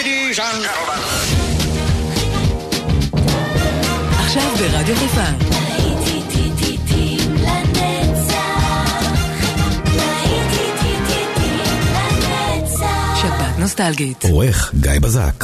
Ladies and gentlemen. עכשיו ברדיו חיפה. שבת נוסטלגית. עורך גיא בזק.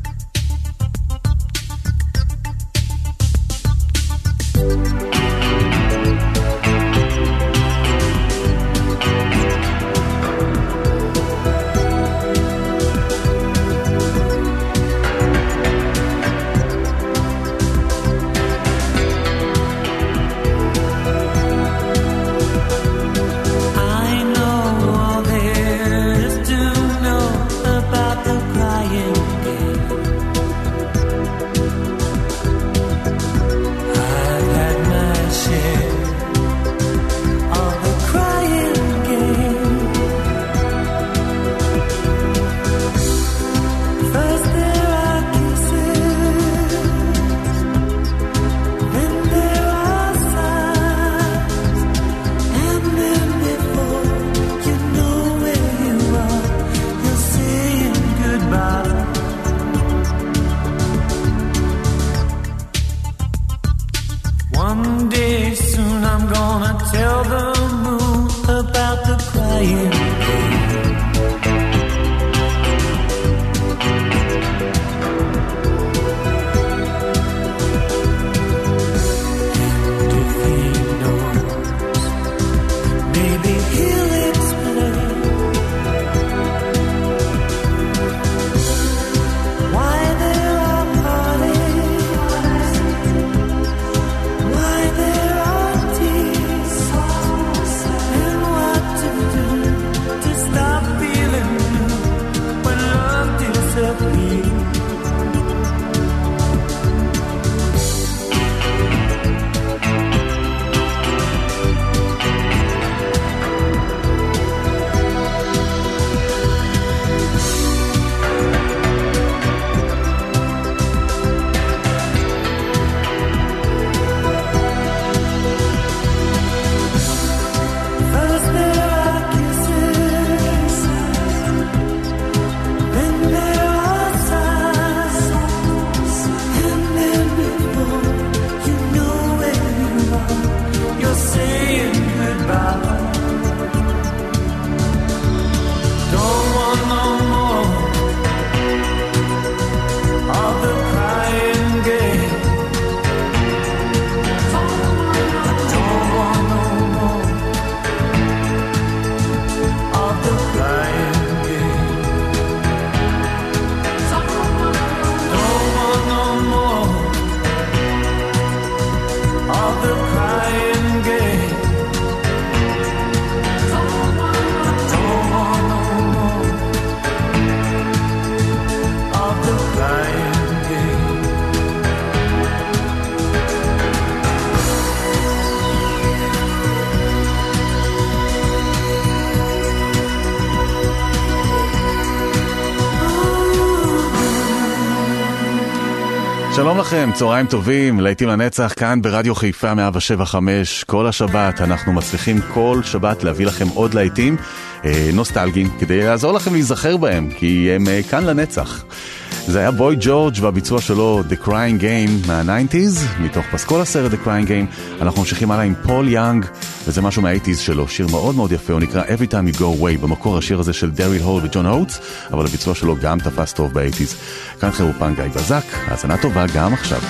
שלום לכם, צהריים טובים, להיטים לנצח, כאן ברדיו חיפה 107.5. כל השבת אנחנו מצליחים כל שבת להביא לכם עוד להיטים נוסטלגיים, כדי לעזור לכם להיזכר בהם, כי הם כאן לנצח. זה היה בוי ג'ורג' והביצוע שלו The Crying Game מה-90s, מתוך פסקול הסרט The Crying Game. אנחנו ממשיכים הלאה עם פול יאנג, וזה משהו מה-80s שלו, שיר מאוד מאוד יפה, הוא נקרא Every Time You Go Away, במקור השיר הזה של דריל הול וג'ון הוטס, אבל הביצוע שלו גם תפס טוב ב-80s. כאן חירופן גיא בזק, האזנה טובה גם עכשיו.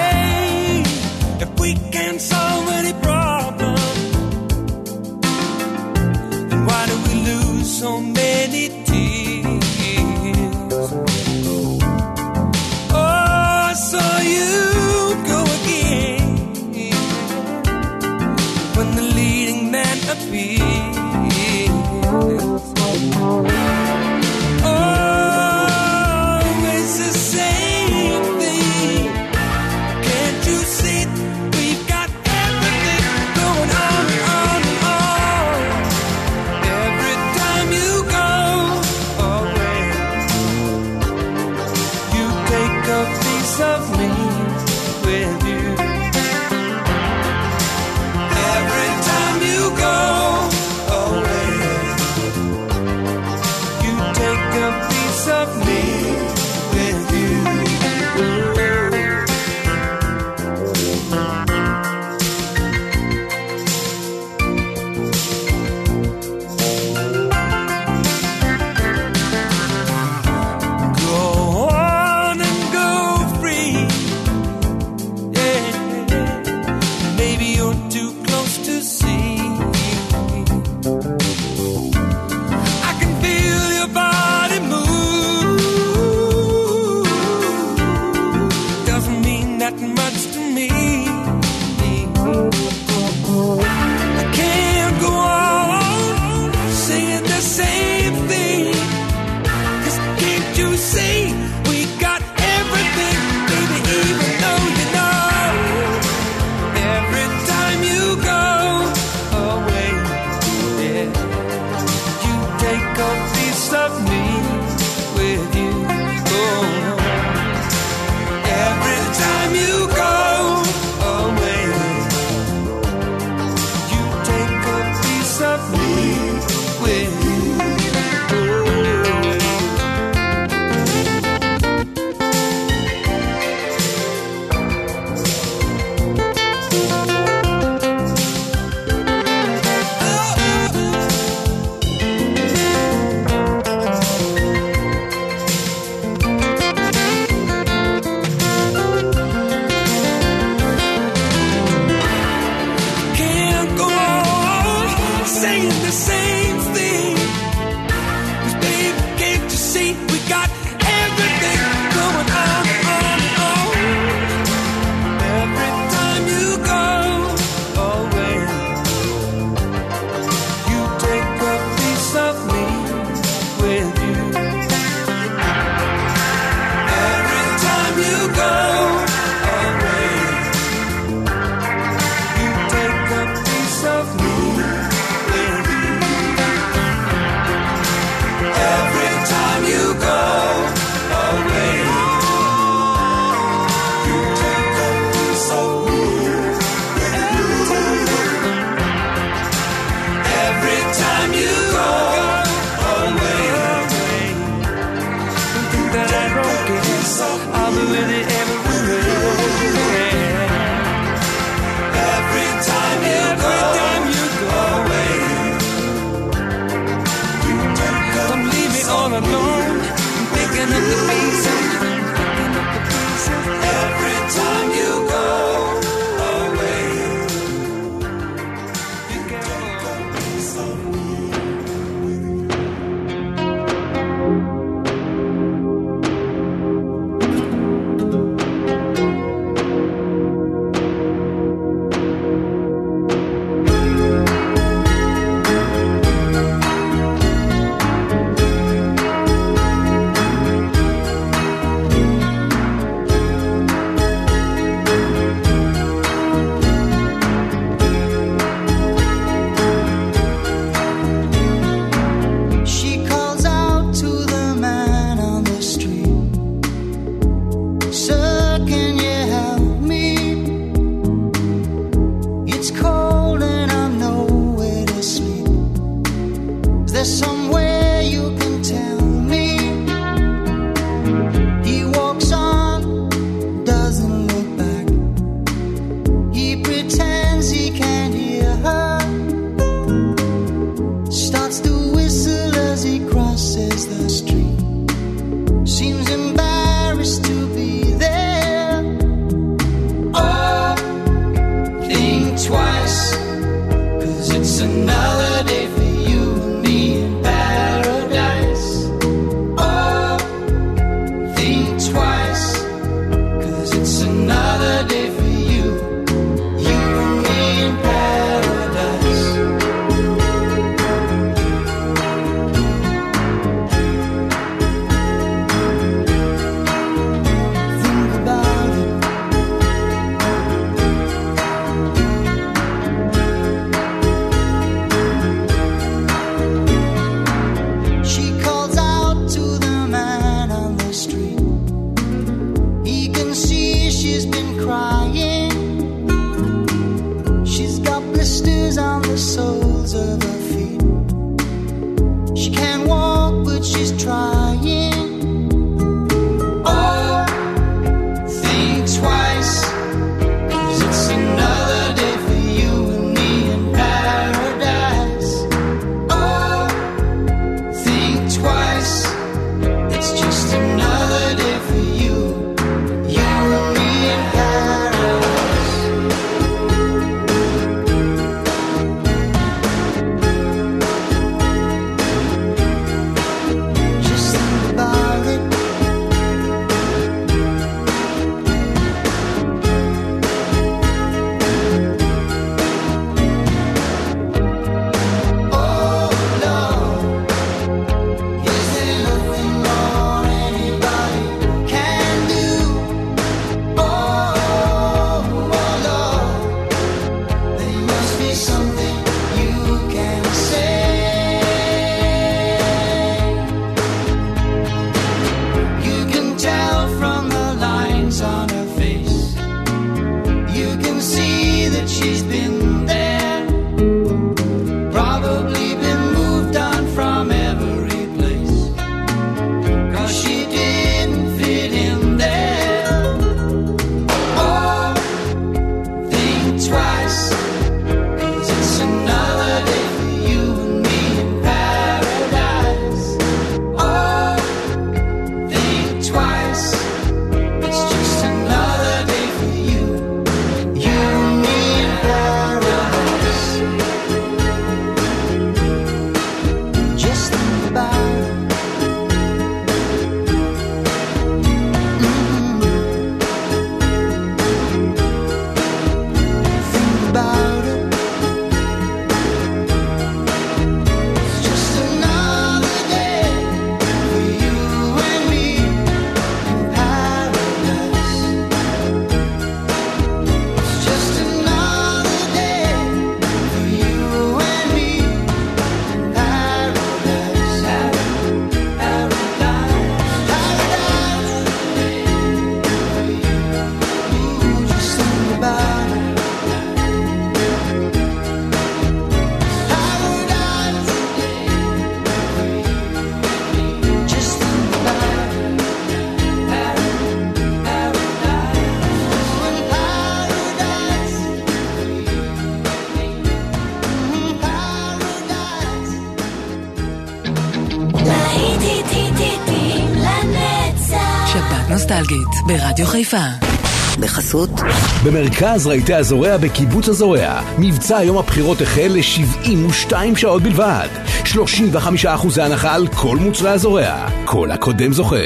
Hey, if we can solve any problem, then why do we lose so many tears? Oh, so you go again when the leading man appears. that I don't care. I'll be with you everywhere. Every time you go away, don't leave me all alone. I'm picking up the pieces. Every time you go away, you can go somewhere. נוסטלגית ברדיו חיפה. בחסות במרכז רהיטי הזורע בקיבוץ הזורע, מבצע יום הבחירות החל ל-72 שעות בלבד, 35% הנחה על כל מוצרי הזורע, כל הקודם זוכה.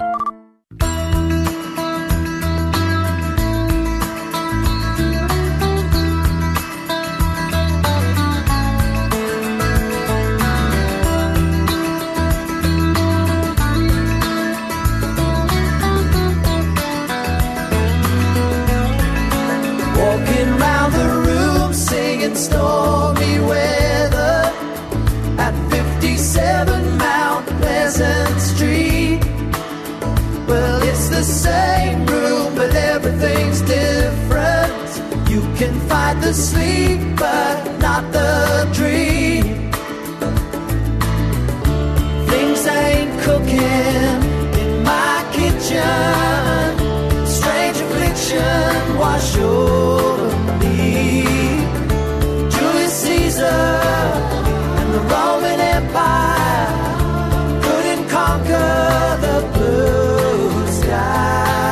The sleep, but not the dream. Things ain't cooking in my kitchen. Strange affliction wash over me. Julius Caesar and the Roman Empire couldn't conquer the blue sky.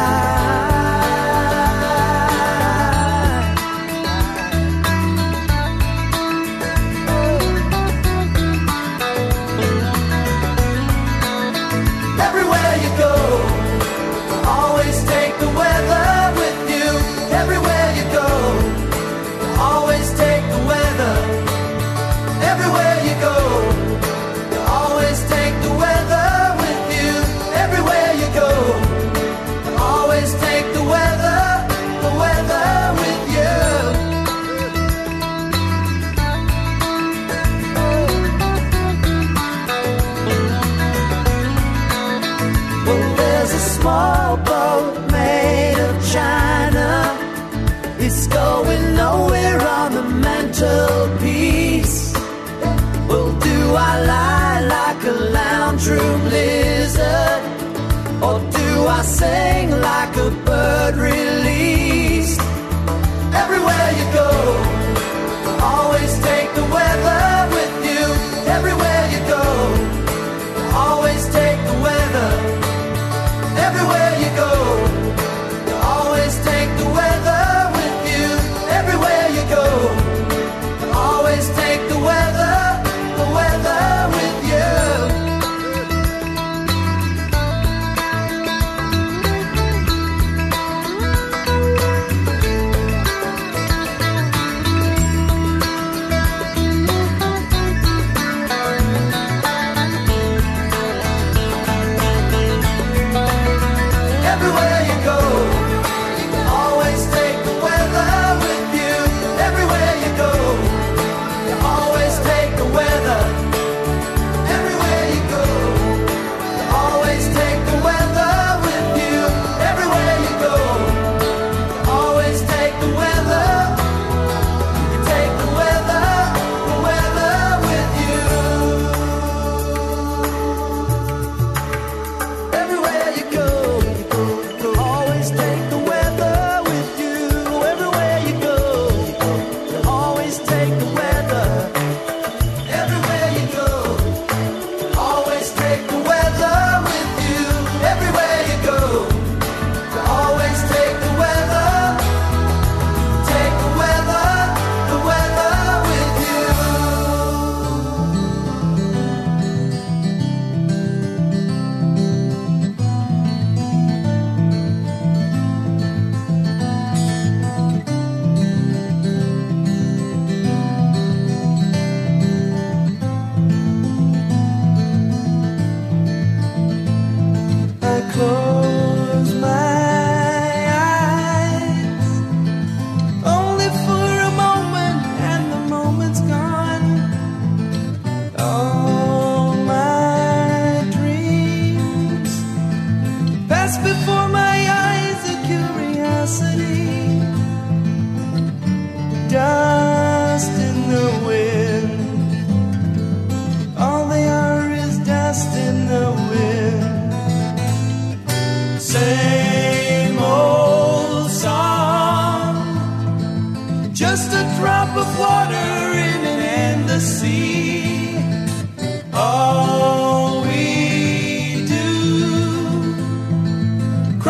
Small boat made of china, it's going nowhere on the mantelpiece. Well, do I lie like a lounge room lizard, or do I sing like a bird released? Everywhere you go, always take the weather with you. Everywhere you go, always take the weather. Everywhere you go, you always take the weather with you. Everywhere you go, you always take the weather with you. Everywhere you go, always take the weather with you. Everywhere you go, you always take the weather. Everywhere you go, you always take the weather with you. Everywhere you go, you always take the weather. You take the weather with you. Everywhere you go, always take the weather with you. Everywhere you go, always take the weather. Everywhere you go, always take the weather with you. Everywhere you go, always take the weather. Take the weather with you. I close my eyes only for a moment, and the moment's gone. All my dreams pass before my eyes, a curiosity, dust in the wind. All they are is dust in the wind. Same old song, just a drop of water in an endless sea. All we do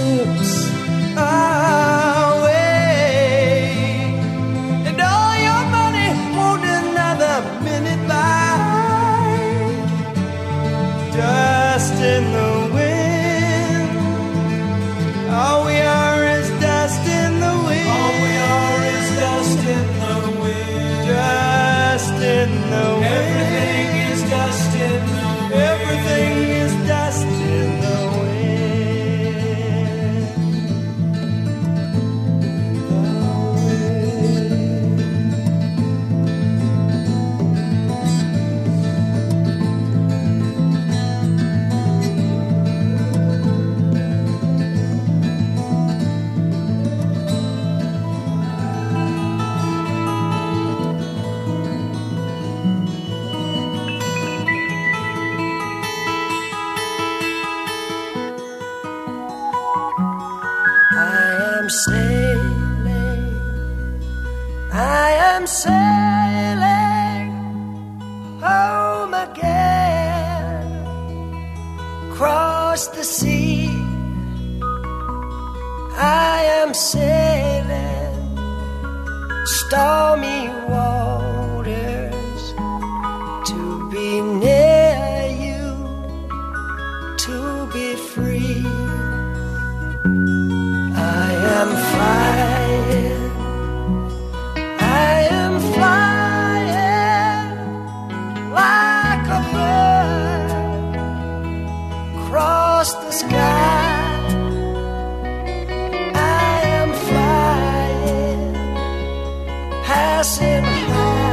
moves away, and all your money won't another minute by. Dust in the wind, all we are is dust in the wind. All we are is dust in the wind. Dust in the wind. Everything is dust in the wind. Everything is dust in the sailing home again, across the sea. I am sailing stormy waters to be near you, to be free. I am flying, I am flying like a bird across the sky. I am flying, passing high.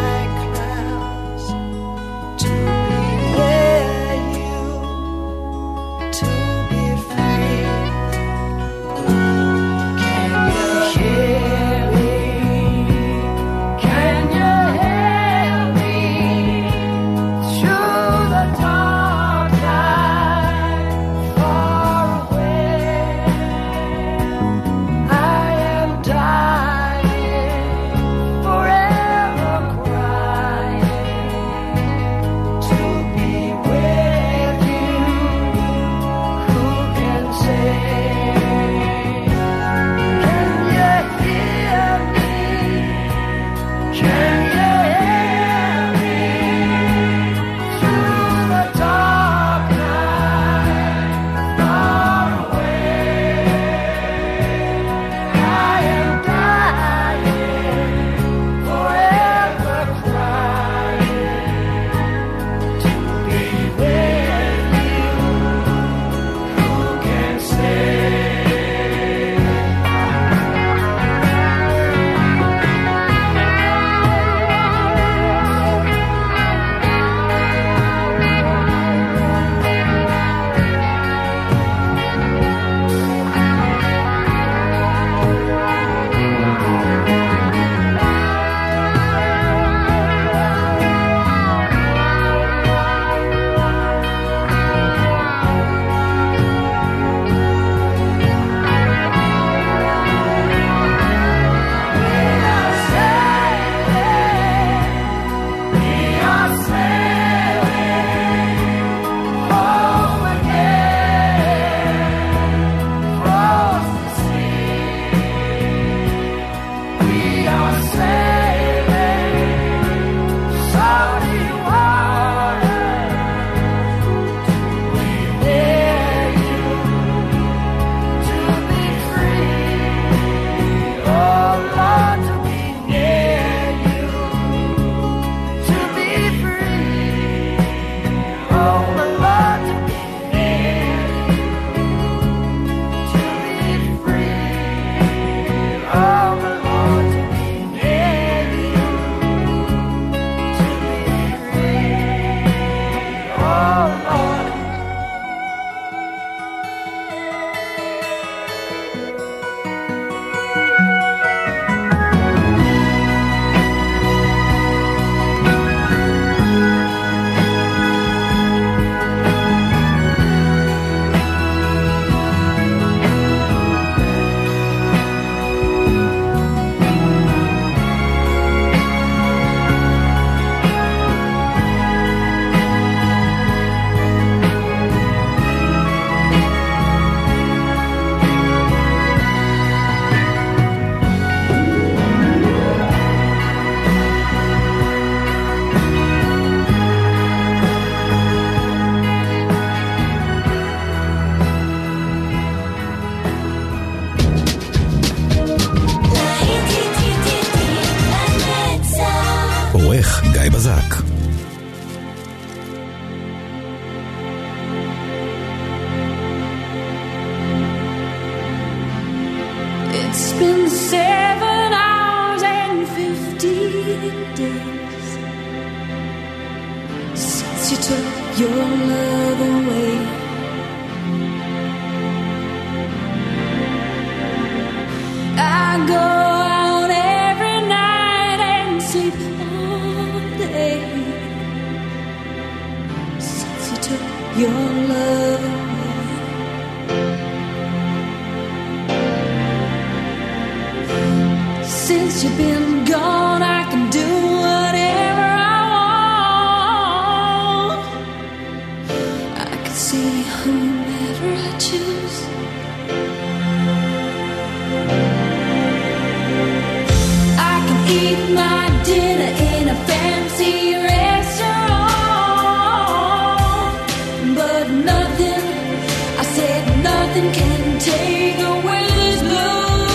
גיא בזק. It's been 7 hours and 15 days since you took your love away. I go out every night and sleep all day since you took your love away. Since you've been gone, I can do whatever I want. I can see whomever I choose. I can eat my dinner in a fancy restaurant, but nothing, I said nothing can take away this blue.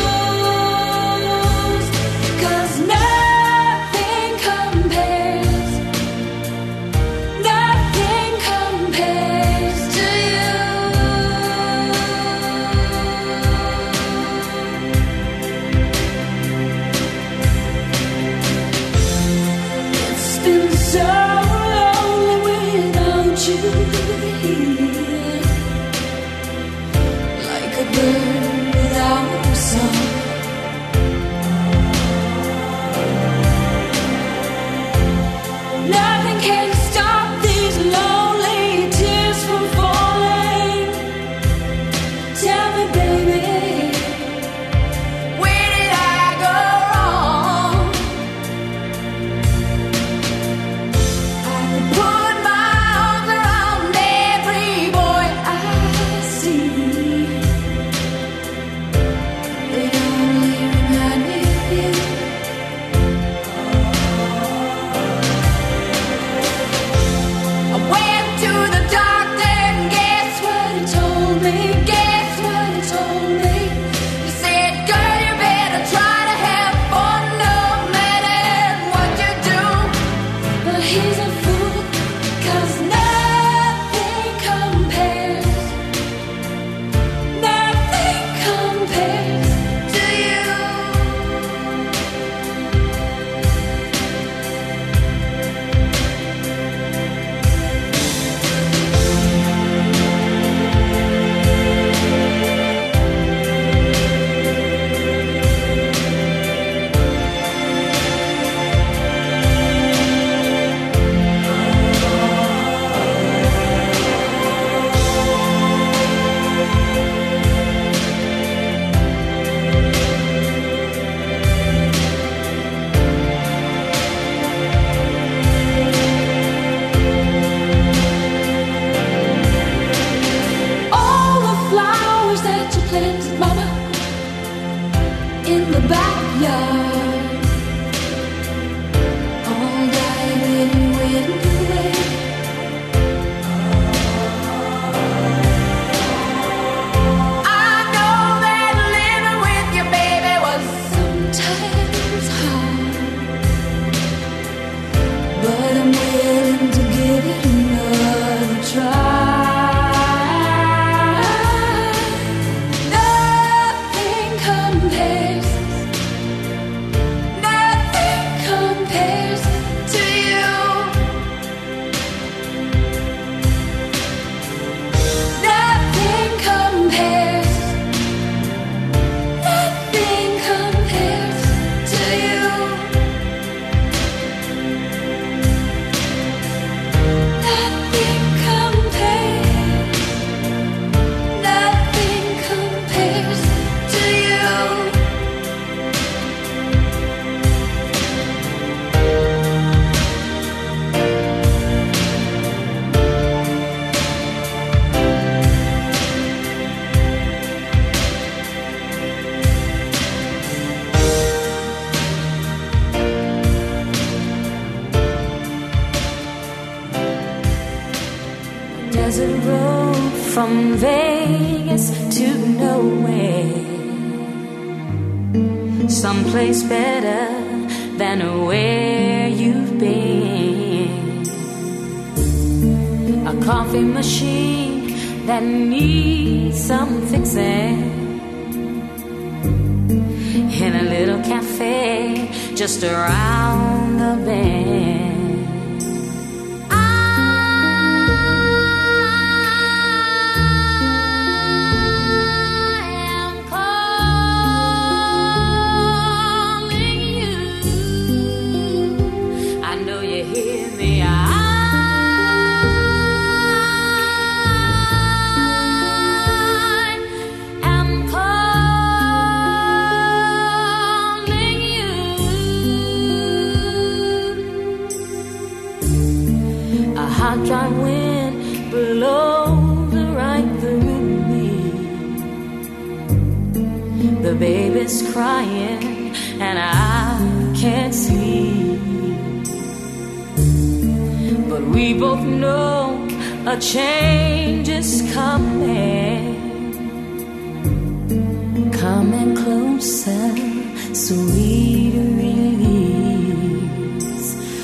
desert road from Vegas to nowhere, someplace better than where you've been. coffee machine that needs some fixing, in a little cafe just around the bend. Dry wind blows right through me. The baby's crying and I can't sleep, but we both know a change is coming. Coming closer, sweet release.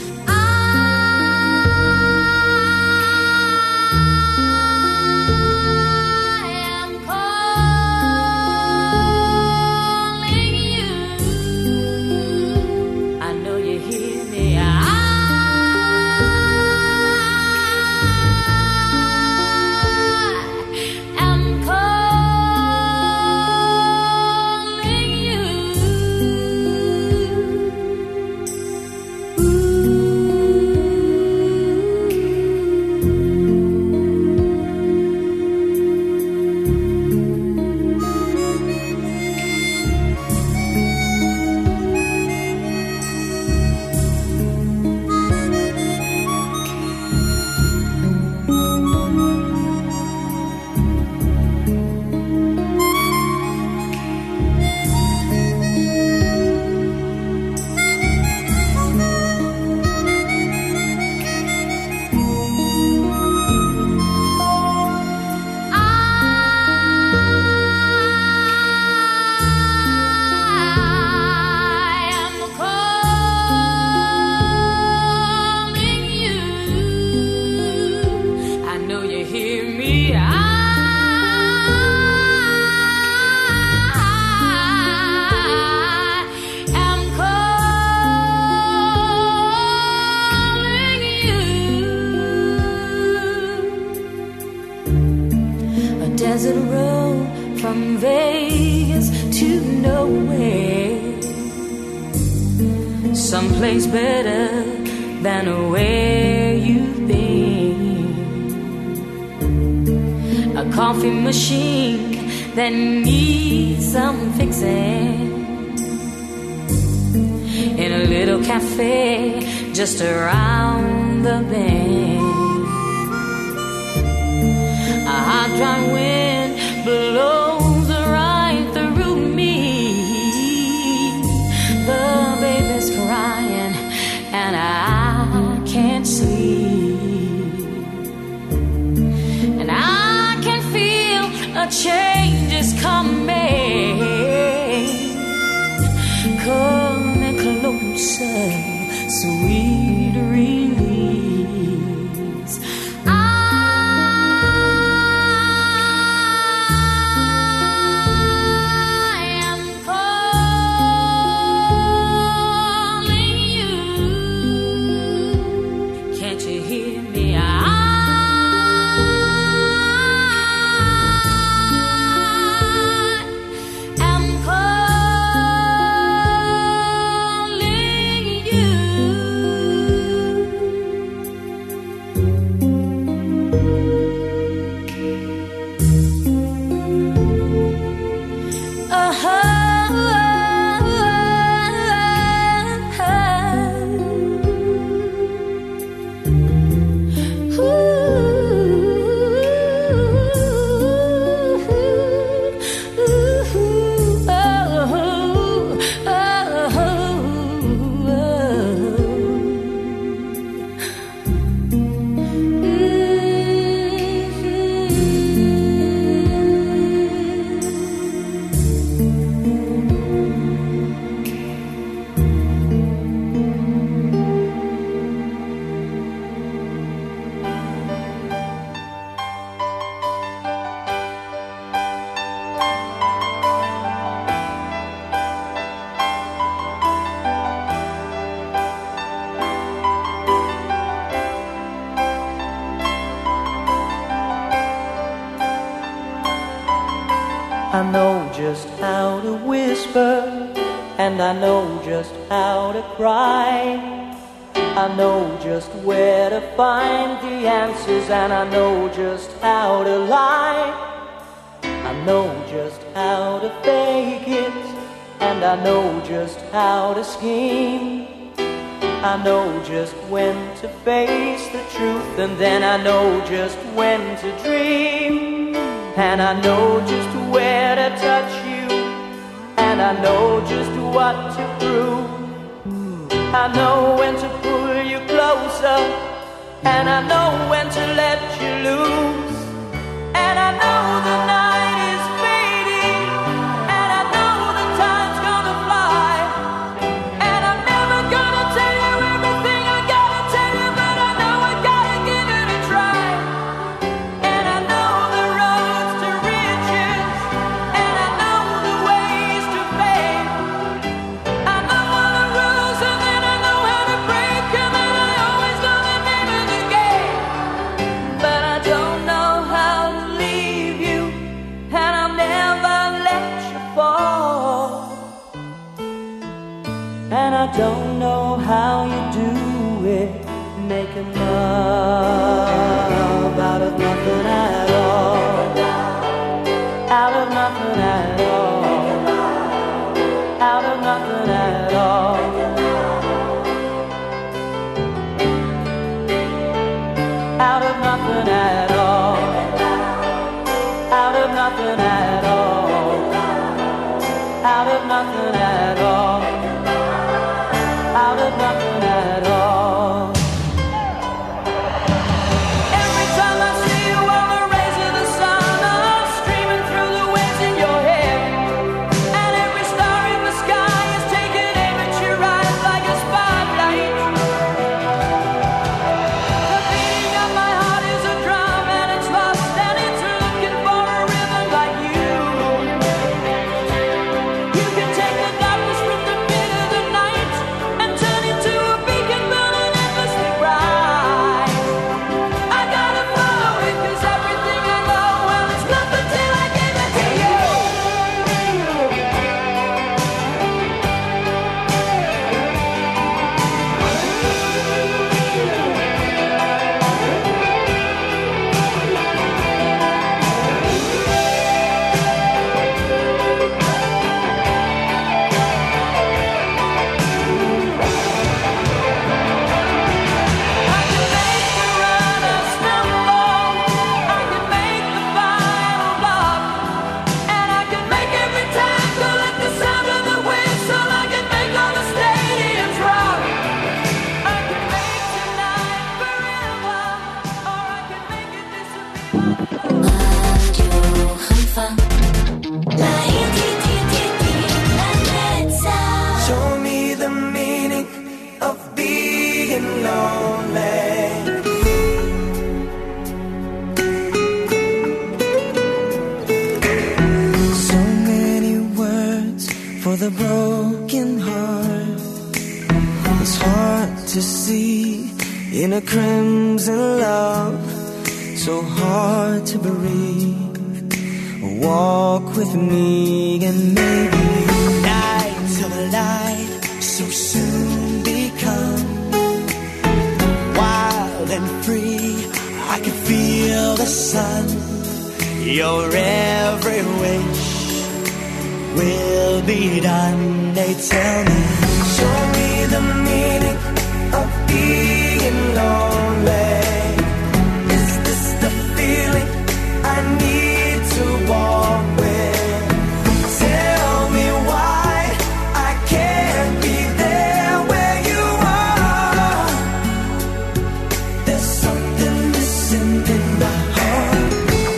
Desert road from Vegas to nowhere, someplace better than where you've been. A coffee machine that needs some fixing, in a little cafe just around the bend. A hot dry wind blows right through me. The baby's crying and I can't sleep, and I can feel a change is coming. Coming closer, sweet release. just how to whisper, and I know just how to cry. I know just where to find the answers, and I know just how to lie. I know just how to fake it, and I know just how to scheme. I know just when to face the truth, and then I know just when to dream. And I know just where to touch you, and I know just what to prove. I know when to pull you closer, and I know when to let you loose. And I know the night is fading, and I know the time's gonna fly. And I'm never gonna tell you everything I gotta tell you, but I know I gotta give it a try. And I know the roads to riches, and I know the ways to fame. I know all the rules, and then I know how to break them, and I always know the name of the game. But I don't know how to leave you, and I'll never let you fall. And I don't know how you do it, making love out of nothing at all. Out of nothing at all. Out of nothing at all. Out of nothing at all. Out of nothing at all. Out of nothing at all. Out of nothing at all. Every time I see you on the rays of the sun are streaming through the waves in your hair, and every star in the sky is taking aim at your eyes like a spotlight. The beating of my heart is a drum, and it's lost, and it's looking for a rhythm like you. You can take the darkness from the pit of the night and turn it to a beacon burning endlessly bright. I gotta follow it, 'cause everything I know, well, it's nothing till I give it to you. I can make the runner stumble, I can make the final block, and I can make every tackle at the sound of the whistle. I can make all the stadiums rock. I can make tonight forever, or I can make it disappear. רדיו חיפה לנצח. Show me the meaning of being lonely. So many words for the broken heart. It's hard to see in a crimson love, so hard to breathe. Walk with me and maybe night till the light so soon become wild and free. I can feel the sun. Your every wish will be done. They tell me, show me the meaning of being lonely. Is this the feeling I need to walk with? Tell me why I can't be there where you are. There's something missing in my heart.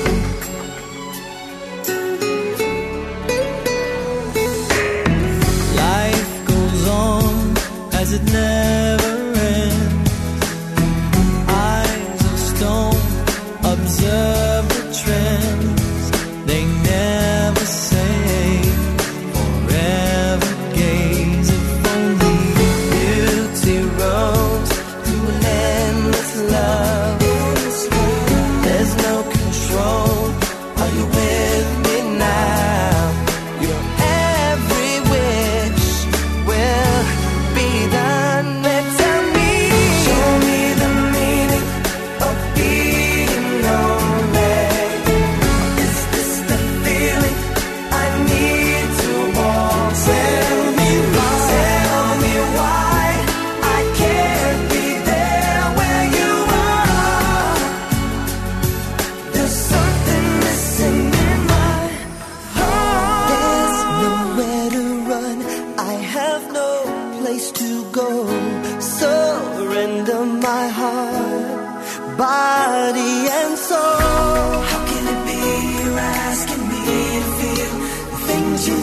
Life goes on as it never ends. Eyes of stone observe the trends. They never say forever gaze. If only beauty rose to an endless love. There's no control. Are you with me now? Your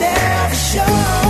never show.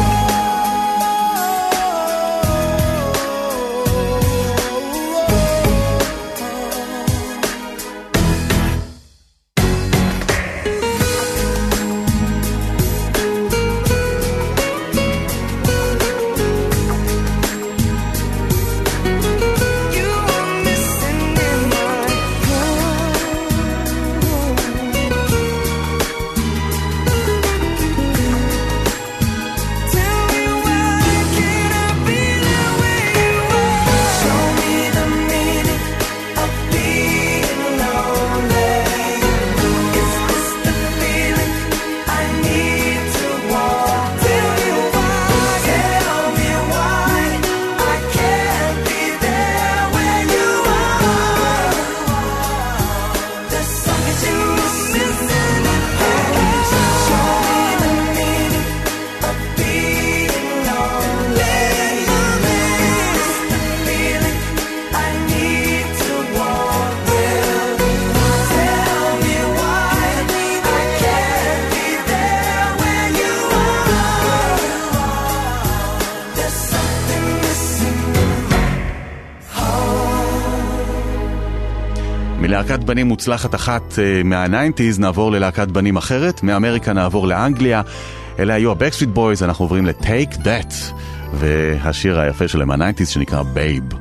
מלהקת בנים מוצלחת אחת מה-90s נעבור ללהקת בנים אחרת, מאמריקה נעבור לאנגליה. אלה היו ה-Backstreet Boys, אנחנו עוברים ל-Take That, והשיר היפה שלהם מה-90s שנקרא Babe.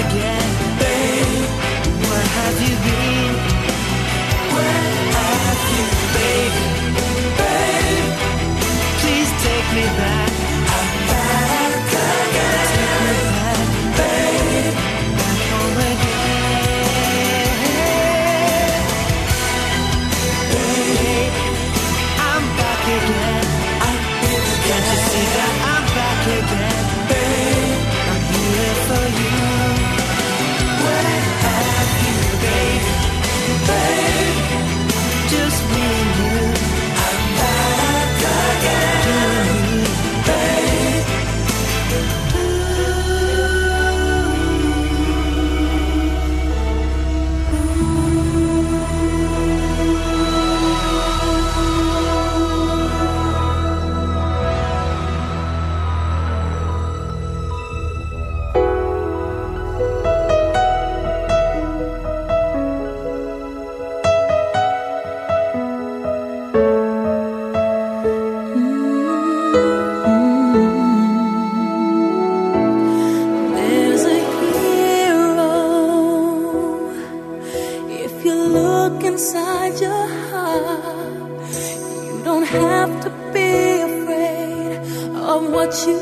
again. Babe, where have you been? Where have you, baby? Babe, please take me back. I'm back again. Take me back, babe, back home again. Babe, I'm back again. Can't you see that I'm back again? Babe, I'm here for you. Where have you, baby? Babe, just me and you. I'm back again. Babe. There's a hero. If you look inside your heart, you don't have to be afraid of what you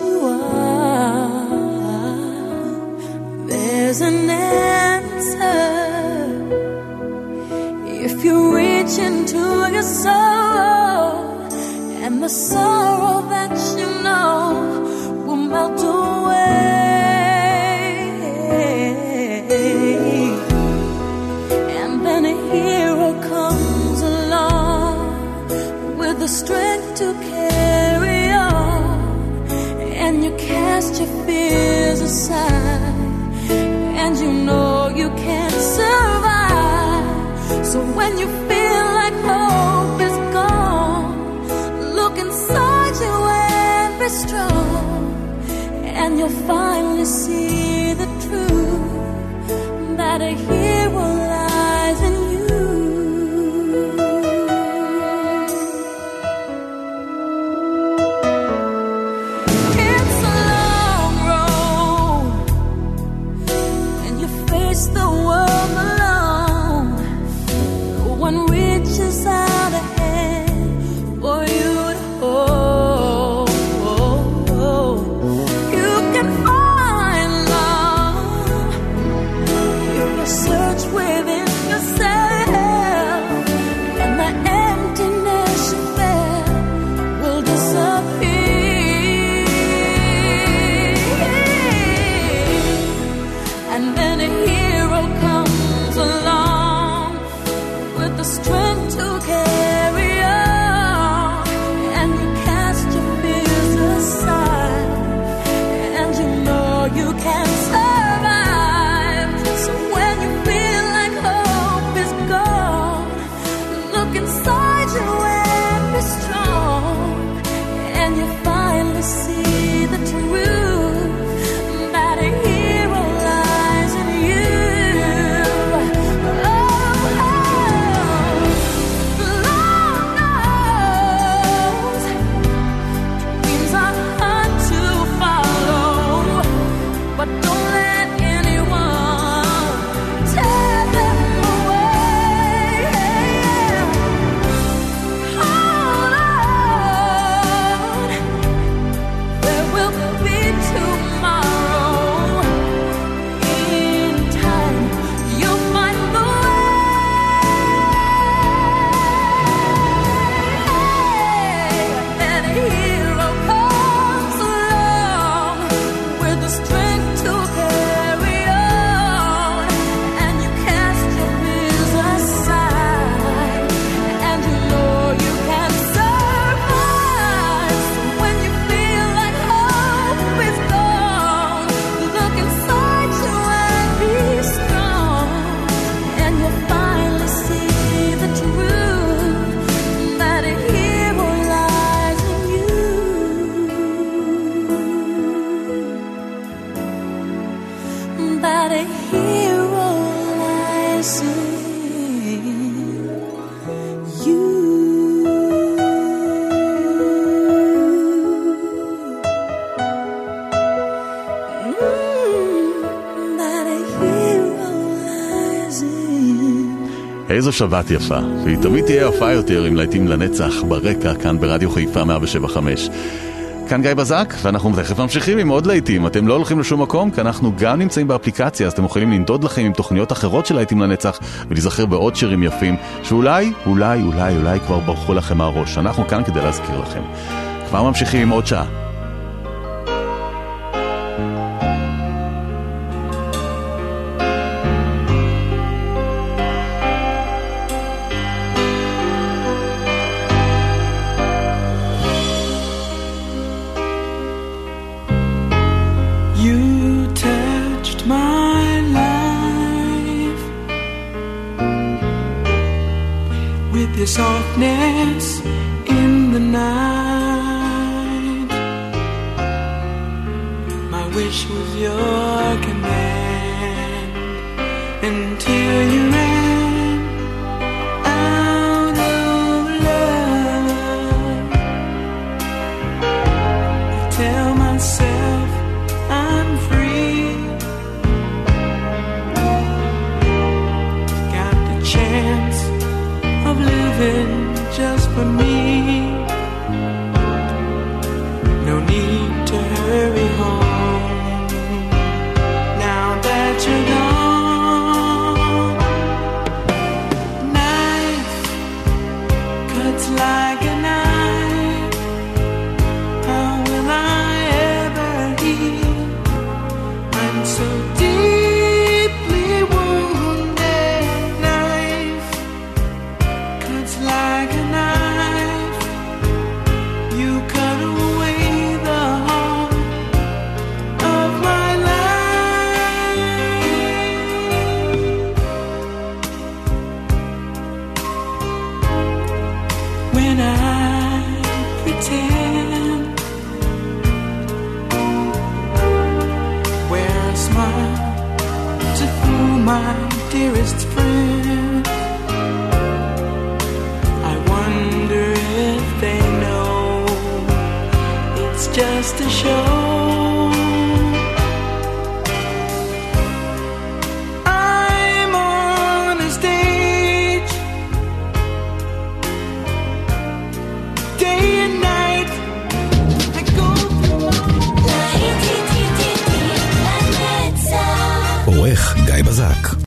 are. There's an answer if you reach into your soul, and the sorrow that you know will melt away. And then a hero comes along with the strength to carry on, and you cast your fears aside, and you know you can't survive. So when you feel like hope is gone, look inside you and be strong, and you'll finally see the truth, that a hero lies in you. It's a long road, and you face the world alone. No one reaches out a hand for you to hold. You can find love if you search איזו שבת יפה, והיא תמיד תהיה יפה יותר עם להיטים לנצח ברקע כאן ברדיו חיפה 107.5. כאן גיא בזק, ואנחנו תכף ממשיכים עם עוד להיטים. אתם לא הולכים לשום מקום, כי אנחנו גם נמצאים באפליקציה, אז אתם יכולים לנדוד לכם עם תוכניות אחרות של להיטים לנצח, ולהיזכר בעוד שירים יפים, שאולי כבר ברחו לכם מהראש. אנחנו כאן כדי להזכיר לכם. כבר ממשיכים עם עוד שעה. Softness in the night. My wish was your command until you ran out of love. I tell myself I'm free. Got the chance of living just for me. No need to hurry home now that you're gone. Knife cuts like a knife. How will I ever heal? I'm so deeply wounded. Knife cuts like a knife. You cut away the heart of my life. When I pretend, wear a smile to fool my dearest friend. I wonder if they know it's just a show. I'm on a stage, day and night. I go through עורך גיא בזק.